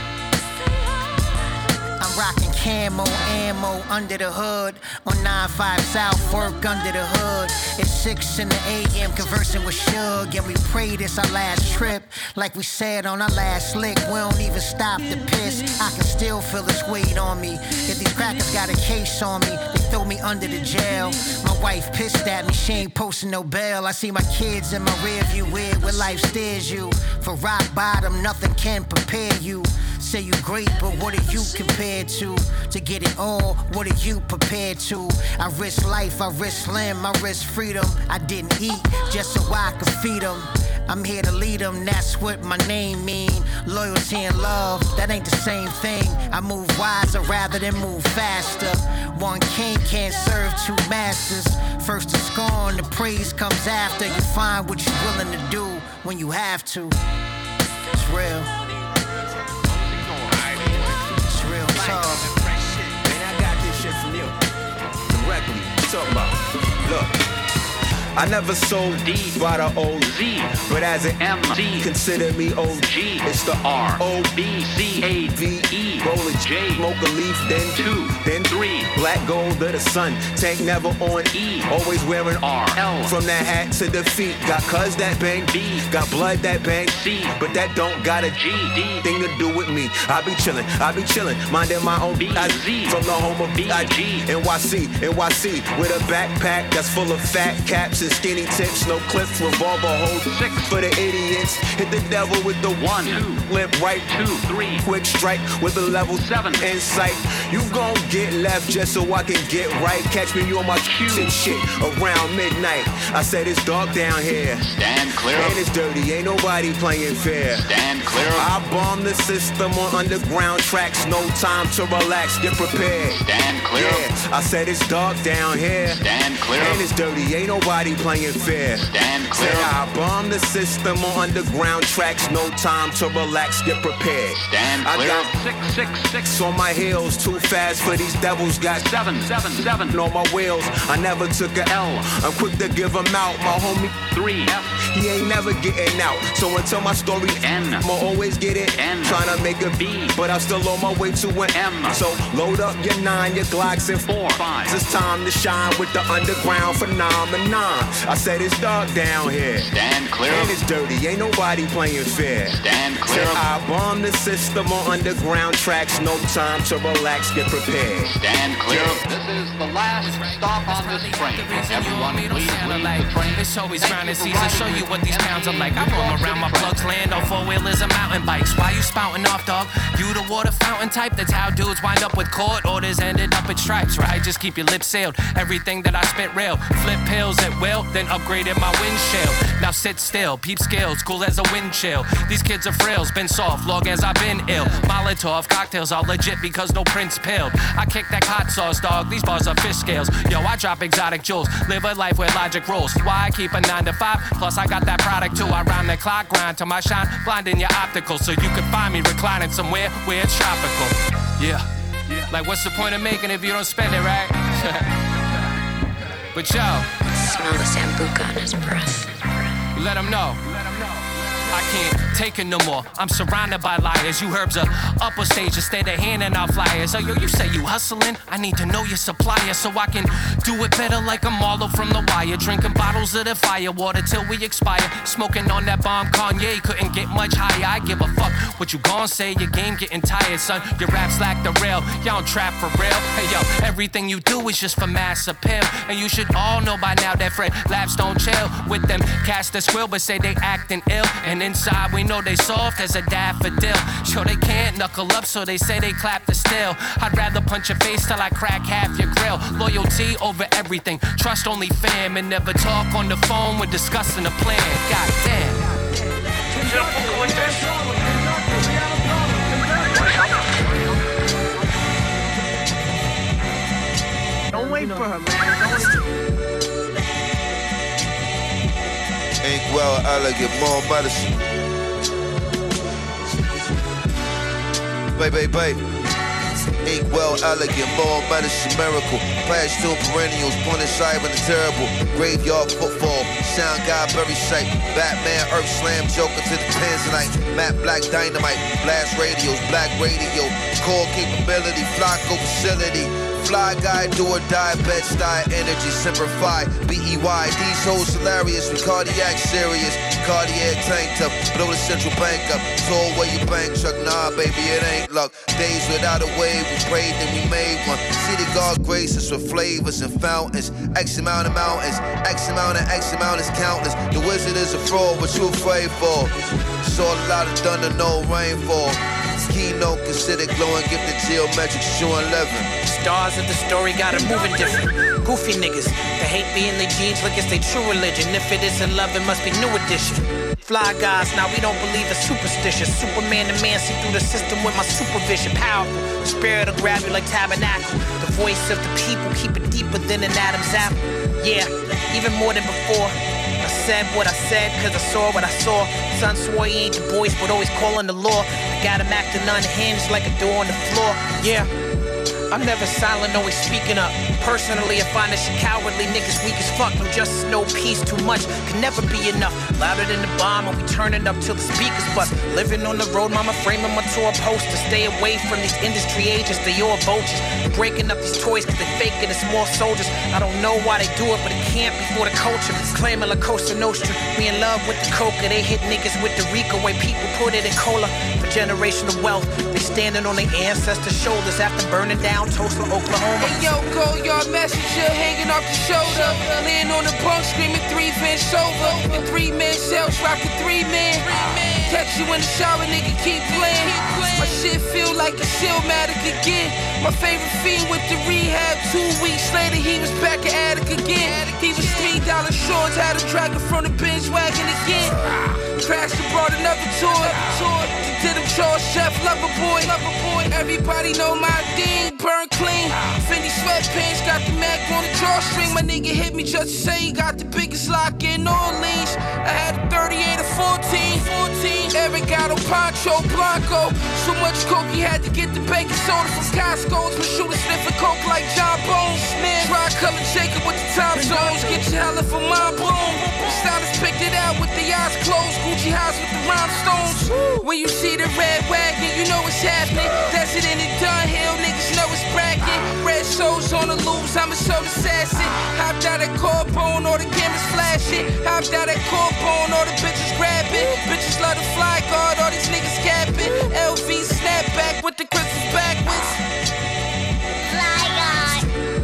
I'm rocking camo, ammo under the hood. On 95 South, work under the hood. It's 6 in the AM, conversing with Suge. And we pray this our last trip. Like we said on our last lick, we don't even stop to piss. I can still feel this weight on me. If these crackers got a case on me, they throw me under the jail. My wife pissed at me, she ain't posting no bail. I see my kids in my rear view, weird where life steers you. For rock bottom, nothing can prepare you. Say you great, but what are you compared to? To get it all, what are you prepared to? I risk life, I risk limb, I risk freedom. I didn't eat just so I could feed them. I'm here to lead them, that's what my name mean. Loyalty and love, that ain't the same thing. I move wiser rather than move faster. One king can't serve 2 masters. First to scorn, the praise comes after. You find what you're willing to do when you have to. It's real. It's real talk. Man, I got this shit from you. Directly. Talk about. Look. I never sold D by the O-Z, but as an MC, consider me OG. It's the R-O-B-C-A-V-E. Roll a J, smoke a leaf, then 2, then 3. Black gold of the sun, tank never on E. Always wearing R-L. From that hat to the feet. Got cuz that bang B, got blood that bang C. But that don't got a G-D thing to do with me. I be chillin', minding my own B-I-Z. From the home of B-I-G, NYC, with a backpack that's full of fat caps. Skinny tips, no clips, revolver hold 6 for the idiots. Hit the devil with the 1, 2, limp right 2, 3, quick strike with a level 7 insight. You gon' get left just so I can get right. Catch me on my cue and shit around midnight. I said it's dark down here. Stand clear. And it's dirty, ain't nobody playing fair. Stand clear. I bomb the system on underground tracks. No time to relax, get prepared. Stand clear. Yeah, I said it's dark down here. Stand clear. And it's dirty, ain't nobody playing fair. Stand clear. Said I bomb the system on underground tracks. No time to relax, get prepared. Stand clear. I got 666 on my heels. Too fast for these devils. Got 777 on my wheels. I never took a L. I'm quick to give them out. My homie 3F. He ain't never getting out. So until my story N, I'ma always get it N. Tryna make a B, but I'm still on my way to an M. So load up your 9, your Glocks and 4, 5. It's time to shine with the underground phenomenon. I said it's dark down here. Stand clear. And it's dirty, ain't nobody playing fair. Stand clear. Said I bomb the system on underground tracks. No time to relax, get prepared. Stand clear. This is the last stop on this train. Everyone, please leave the train. It's always grinding season. Show you what these pounds are like. I roam around my plugs, land on 4-wheelers and mountain bikes. Why you spouting off, dog? You the water fountain type. That's how dudes wind up with court orders, ended up at stripes, right? Just keep your lips sealed. Everything that I spit real. Flip pills at will, then upgraded my windshield. Now sit still, peep skills, cool as a wind chill. These kids are frills, been soft, long as I've been ill. Molotov cocktails all legit because no Prince pilled. I kick that hot sauce, dog. These bars are fish scales. Yo, I drop exotic jewels. Live a life where logic rules. Why I keep a 9 to 5? Plus I got that product too. I round the clock, grind to my shine, blinding your optical, so you can find me reclining somewhere where it's tropical. Yeah. Like what's the point of making it if you don't spend it, right? But yo, smell the sambuca on his breath. Let him know. I can't take it no more. I'm surrounded by liars. You herbs are upper stage instead of handing out flyers. Oh, yo, you say you hustling? I need to know your supplier so I can do it better like a Marlo from The Wire. Drinking bottles of the fire water till we expire. Smoking on that bomb Kanye, couldn't get much higher. I give a fuck what you gon' say. Your game getting tired, son. Your raps lack the rail. Y'all don't trap for real. Hey, yo, everything you do is just for mass appeal. And you should all know by now that Fred Labs don't chill with them cats that squill but say they acting ill. And inside we know they soft as a daffodil. Sure they can't knuckle up, so they say they clap the still. I'd rather punch your face till I crack half your grill. Loyalty over everything, trust only fam, and never talk on the phone when discussing a plan. God damn. Don't wait for her, man. Ain't well elegant, more medicine. Baby. Ain't well elegant, more medicine, miracle. Past two perennials, Buenos Aires and the terrible. Graveyard football, sound guy, very sight. Batman, Earth Slam, Joker to the Tanzanite. Matte Black Dynamite, blast radios, black radio. Core capability, Flocko facility. Fly guy, do or die, bed style, energy, simplify, B-E-Y. These hoes hilarious, we cardiac serious. Cartier tank top, blow the central bank up. Told where your bank truck, nah baby, it ain't luck. Days without a wave, we prayed then we made one. See the God graces with flavors and fountains. X amount of mountains, X amount of X amount is countless. The wizard is a fraud, what you afraid for? Saw a lot of thunder, no rainfall. Keynote considered glowing, gifted geometric, showing 11. Stars of the story got it moving different. Goofy niggas, they hate being their jeans like it's their true religion. If it isn't love, it must be new edition. Fly guys, now we don't believe it's superstitious. Superman the man, see through the system with my supervision. Powerful, the spirit will grab you like tabernacle. The voice of the people, keep it deeper than an Adam's apple. Yeah, even more than before. I said what I said, cause I saw what I saw. Son swore he ain't the voice, but always calling the law. I got him acting unhinged like a door on the floor. Yeah, I'm never silent, always speaking up. Personally, I find this shit cowardly. Niggas weak as fuck, no justice, no peace, too much can never be enough. Louder than the bomb, and we turning up till the speakers bust. Living on the road, mama framing my tour poster. Stay away from these industry agents, they all vultures. Breaking up these toys cause they fake it, it's more soldiers. I don't know why they do it, but it can't be for the culture. Claiming La Costa Nostra, we in love with the coca. They hit niggas with the Rico, way people put it in cola. For generational wealth, they standing on their ancestors' shoulders after burning down Tulsa, Oklahoma. Hey yo, go yard messenger hanging off the shoulder. Laying on the bunk screaming 3 Vince over. And 3-man cells rocking 3-man. Catch you in the shower, nigga, keep playing. My shit feel like a Stillmatic again. My favorite fiend with the rehab. 2 weeks later, he was back at Attic again. He was $3 shorts, had him dragging from the bench wagon again. Crashed and brought another tour. Did him Charles Chef, lover boy. Everybody know my thing, burn clean. Fendi sweatpants, got the Mac on the drawstring. My nigga hit me just to say he got the biggest lock in New Orleans. I had a 38 or 14. Eric got on Poncho Blanco. So much coke he had to get the baking soda from Costco's. My shooter sniffing coke like John Bones. Dry color Jacob with the time zones. Get your hella for my boom. Stylist picked it out with the eyes closed. Gucci house with the rhinestones. When you see the red wagon, you know what's happening. Desert in the Dunhill, niggas know it's bragging. Red shows on the loose, I'm a soul assassin. Hopped out at Corbone, all the cameras flashing. Hopped out at Corbone, all the bitches grabbing. Bitches love the fly guard, all these niggas capping. LV snapback with the crystals backwards. Fly guard.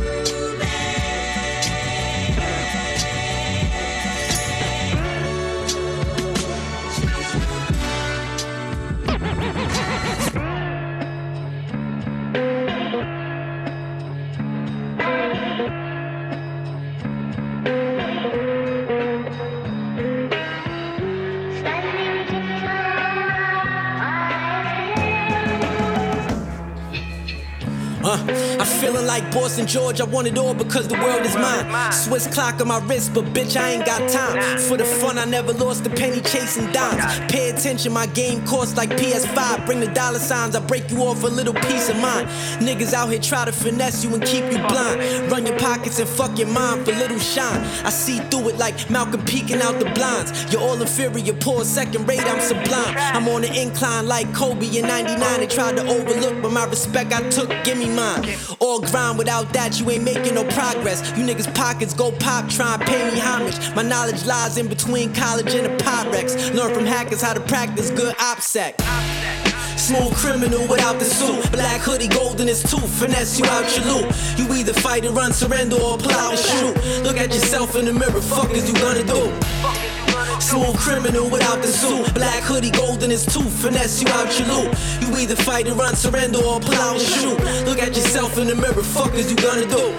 I'm feeling like Boston George, I want it all because the world is mine. Swiss clock on my wrist, but bitch, I ain't got time. For the fun, I never lost a penny chasing dimes. Pay attention, my game costs like PS5. Bring the dollar signs, I break you off a little piece of mine. Niggas out here try to finesse you and keep you blind. Run your pockets and fuck your mind for little shine. I see through it like Malcolm peeking out the blinds. You're all inferior, poor, second rate, I'm sublime. I'm on the incline like Kobe in 99. They tried to overlook, but my respect I took, give me mine. All grind, without that you ain't making no progress. You niggas pockets go pop, try and pay me homage. My knowledge lies in between college and a Pyrex. Learn from hackers how to practice good OPSEC. Smooth criminal without the suit. Black hoodie, golden is tooth. Finesse you out your loot. You either fight and run, surrender, or pull out and shoot. Look at yourself in the mirror, fuck is you gonna do? Smooth criminal without the suit. Black hoodie, golden is tooth. Finesse you out your loot. You either fight and run, surrender, or pull out and shoot. Look at yourself in the mirror, fuck is you gonna do?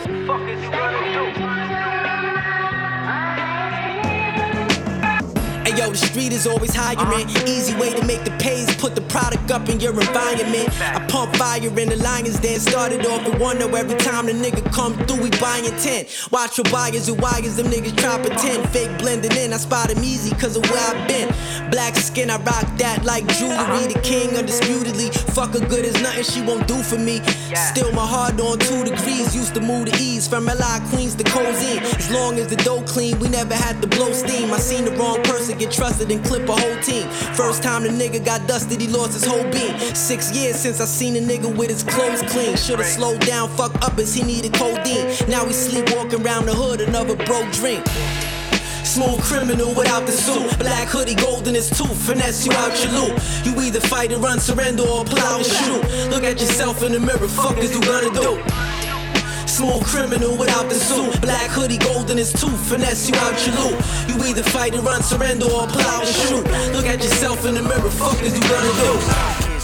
Hey yo, the street is always hiring. Easy way to make the pays, put the product up in your environment. I pump fire in the Lions Den. Started off with one, though every time the nigga come through, we buying 10. Watch for buyers and wires, them niggas try pretend. Fake blending in, I spot him easy cause of where I've been. Black skin, I rock that like jewelry. The king undisputedly, fuck her good as nothing she won't do for me. Still my heart on 2 degrees, used to move to ease. From LI Queens to Cozine. As long as the dough clean, we never had to blow steam. I seen the wrong person get trusted and clip a whole team. First time the nigga got dusted, he lost his whole beam. 6 years since I seen a nigga with his clothes clean. Should've slowed down, fuck up as he needed codeine. Now he sleepwalking around the hood, another broke dream. Smooth criminal without the suit. Black hoodie, golden is tooth. Finesse you out your loot. You either fight and run, surrender, or pull out and shoot. Look at yourself in the mirror, fuck is you gonna do? Smooth criminal without the suit. Black hoodie, golden is tooth. Finesse you out your loot. You either fight and run, surrender, or pull out and shoot. Look at yourself in the mirror, fuck is you gonna do?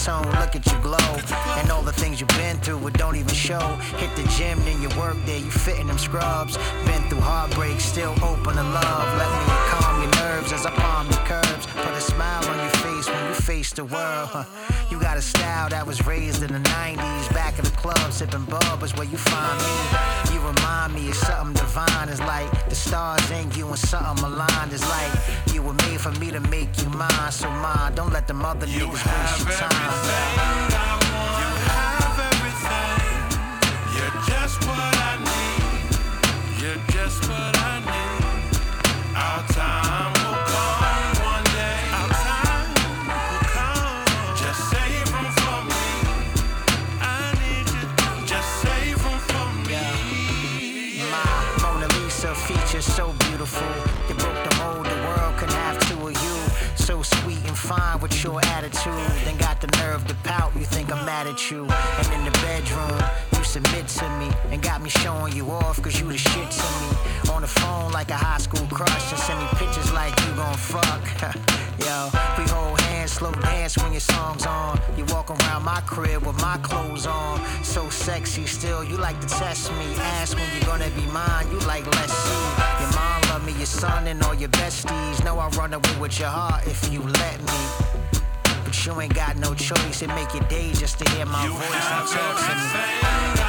tune. Look at you glow. And all the things you've been through, it don't even show. Hit the gym, then you work there, you fit in them scrubs. Been through heartbreak, still open to love. Let me calm your nerves as I palm your curves. Put a smile on your face when you face the world. You got a style that was raised in the 90s. Back in the club, sipping bub is where you find me. You remind me of something divine. It's like the stars in you and something aligned. It's like you were made for me to make you mine. So mine, don't let them other niggas waste your time. You have everything. You're just what I need. You're just what I need. Our time will come one day. Our time will come. Just save room for me. I need you. Just save room for me. My Mona Lisa features so beautiful. You broke the mold, the world couldn't have two of you. So sweet and fine with your attitude. Then got the nerve to pout, you think I'm mad at you. And in the bedroom, you submit to me. And got me showing you off cause you the shit to me. On the phone like a high school crush. And send me pictures like you gon' fuck. Yo, we hold hands, slow dance when your song's on. You walk around my crib with my clothes on. So sexy still, you like to test me. Ask when you're gonna be mine, you like let's see. Your mom love me, your son and all your besties. Know I run away with your heart if you let me. But you ain't got no choice, it make your day just to hear my voice and talk to me.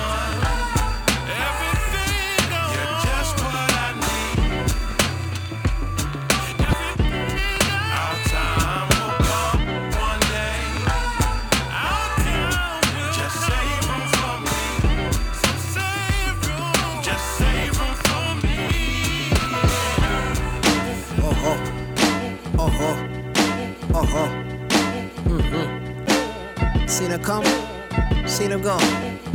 Seen her come, seen her go.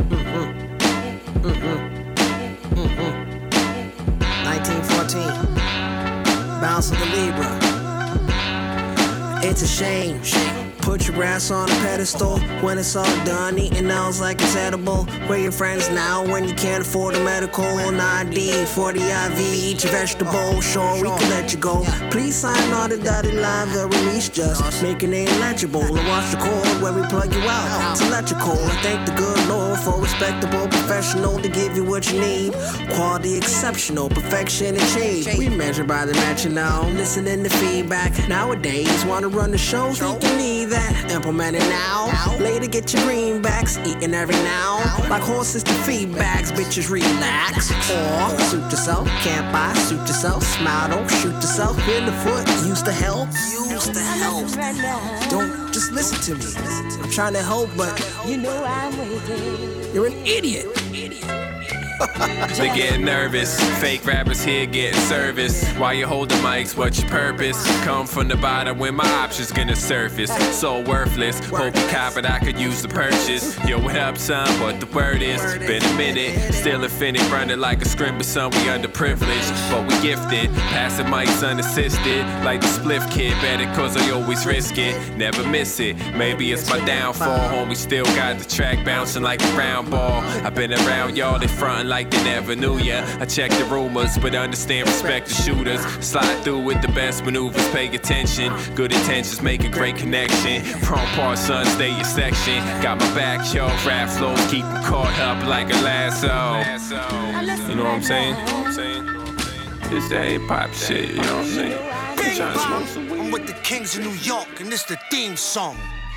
1914, bounce of the Libra. It's a shame. Put your ass on a pedestal. When it's all done, eating L's like it's edible. Where your friends now when you can't afford a medical? 9D, 40 IV, eat your vegetable. Sure, we can let you go. Please sign all the dotted lines, the release just make your name legible. And watch the cord where we plug you out. It's electrical. I thank the good Lord for a respectable professional to give you what you need. Quality exceptional, perfection and change. We measure by the metronome, listening to feedback. Nowadays, wanna run the show, think you need that. Implement it now. Later get your greenbacks, eating every now. Like horses to feedbacks, bitches relax. Or suit yourself, can't buy, suit yourself. Smile, don't shoot yourself in the foot. Use the help, use the help. Don't just listen to me. I'm trying to help, but you know I'm waiting. You're an idiot. They getting nervous, fake rappers here getting service. While you hold the mics, what's your purpose? Come from the bottom when my options gonna surface. So worthless, hope you cop it, I could use the purchase. Yo, what up son, what the word is? Been a minute, still offended, running like a scrim, but son, we underprivileged. But we gifted, passing mics unassisted. Like the spliff kid, better cause I always risk it. Never miss it, maybe it's my downfall. Homie still got the track bouncing like a round ball. I've been around y'all, they frontin' like they never knew ya. I check the rumors, but understand, respect the shooters. Slide through with the best maneuvers, pay attention. Good intentions make a great connection. Prompt part, son, stay your section. Got my back, yo, rap flows, keep them caught up like a lasso. You know what I'm saying? It's that hip-hop shit, you know what I'm saying? I'm with the Kings of New York, and this the theme song.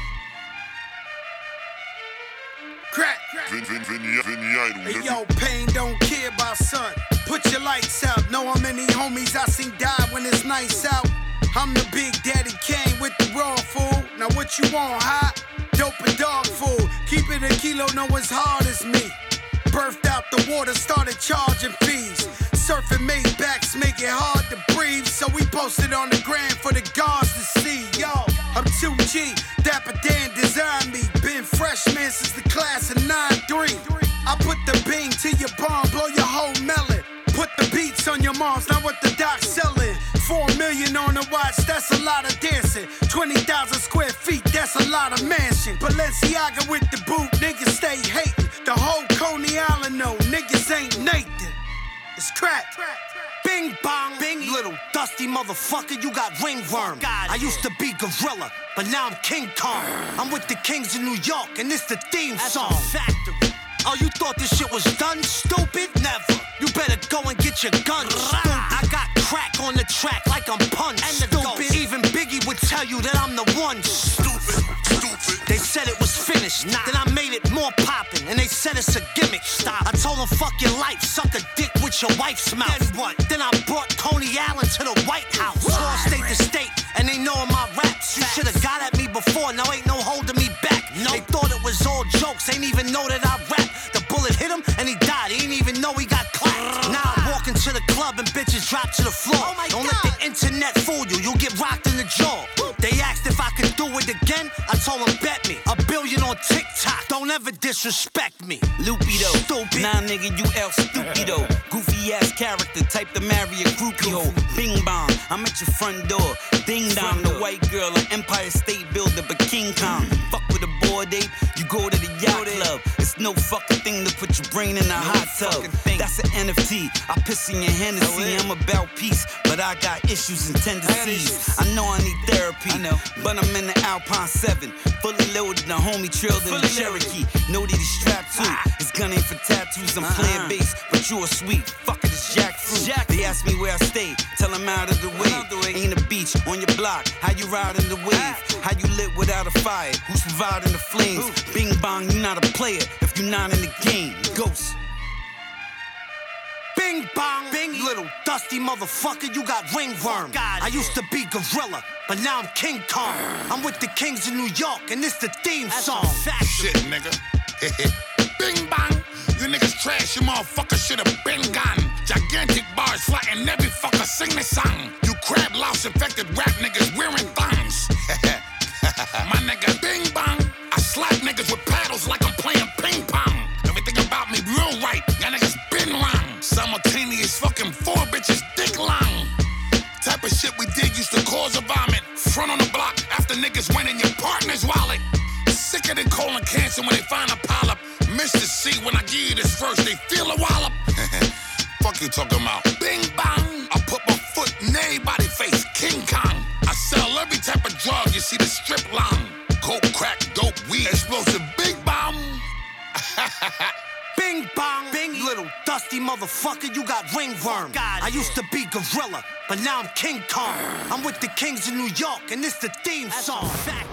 Crack. Hey yo, pain don't care about son. Put your lights out. Know how many homies I seen die when it's nice out. I'm the Big Daddy Kane with the raw food. Now what you want, hot? Dope and dog food. Keep it a kilo, know as hard as me. Birthed out the water, started charging fees. Surfing Maybachs make it hard to breathe. So we posted on the gram for the guards to see. Yo, I'm 2G, Dapper Dan designed me. Been freshman since the class of 9-3. I put the bean to your bomb, blow your whole melon. Put the beats on your moms, not what the doc's selling. 4 million on the watch, that's a lot of dancing. 20,000 square feet, that's a lot of mansion. Balenciaga with the boot, niggas stay hating. The whole Coney Island know, niggas ain't Nathan. It's crazy. Bing bong, bing, little dusty motherfucker, you got ringworm. I used to be gorilla, but now I'm King Kong. I'm with the Kings of New York, and this the theme song. Factory. Oh, you thought this shit was done, stupid? Never. You better go and get your gun, stupid. I got crack on the track like I'm Punch, stupid. Even Biggie would tell you that I'm the one, stupid. They said it was finished, then I made it more poppin', and they said it's a gimmick. Stop. I told them fuck your life, suck a dick with your wife's mouth. Then what? Then I brought Coney Allen to the White House. Tour state to state, and they know my raps. You should've got at me before, now ain't no holding me back. No. They thought it was all jokes, ain't even know that I rap. The bullet hit him, and he died, he ain't even know he got clapped. Now I walk into the club and bitches drop to the floor. Don't let the internet fool you, you'll get rocked in the jaw. They asked if I could do it again, I told them bet me. $1 billion on TikTok, don't ever disrespect me. Lupido, stupid. Nah, nigga, you El Stupido. Goofy ass character, type to marry a groupie hoe. Bing bong, I'm at your front door. Ding dong, the white girl, an Empire State Builder, but King Kong. Fuck with a bored ape, you go to the yacht club. It's no fucking thing to put your brain in a hot tub. That's an NFT, I piss in your Hennessy. I'm about peace, but I got issues and tendencies. I know I need therapy, but I'm in the Alpine 7. Fully loaded, the homie trailed in the Cherokee. Know that he's strapped too. His gun ain't for tattoos, I'm playing bass, but you a sweet. Fuck it, it's jackfruit. They ask me where I stay, tell them out of the way. Ain't a beach on your block, how you riding the wave? How you lit without a fire? Who's providing the flames? Bing bong, you not a player if you not in the game. Ghost. Bing bong, bing, little dusty motherfucker, you got ringworm. I used to be gorilla, but now I'm King Kong. I'm with the Kings of New York, and this the theme song. Shit, nigga. Bing bang. You niggas trash, you motherfuckers should've been gone. Gigantic bars flattening every fucker sing this song. You crab louse infected rap niggas wearing thongs. My nigga, bing bang. I slap niggas with paddles like I'm playing ping pong. Everything about me real right, y'all niggas been wrong. Simultaneous fucking 4 bitches dick long. Type of shit we did used to cause a vomit. Front on the block after niggas went in your partner's wallet. Sicker than colon cancer when they find a polyp. Mr. C, when I give you this verse, they feel a wallop. Fuck you talking about? Bing bang. I put my foot in everybody's face. King Kong. I sell every type of drug you see the strip long. Coke, crack, dope, weed, explosive, big bomb. Bing bong, bing, little dusty motherfucker, you got ringworm. I used to be gorilla, but now I'm King Kong. I'm with the Kings of New York, and this the theme song.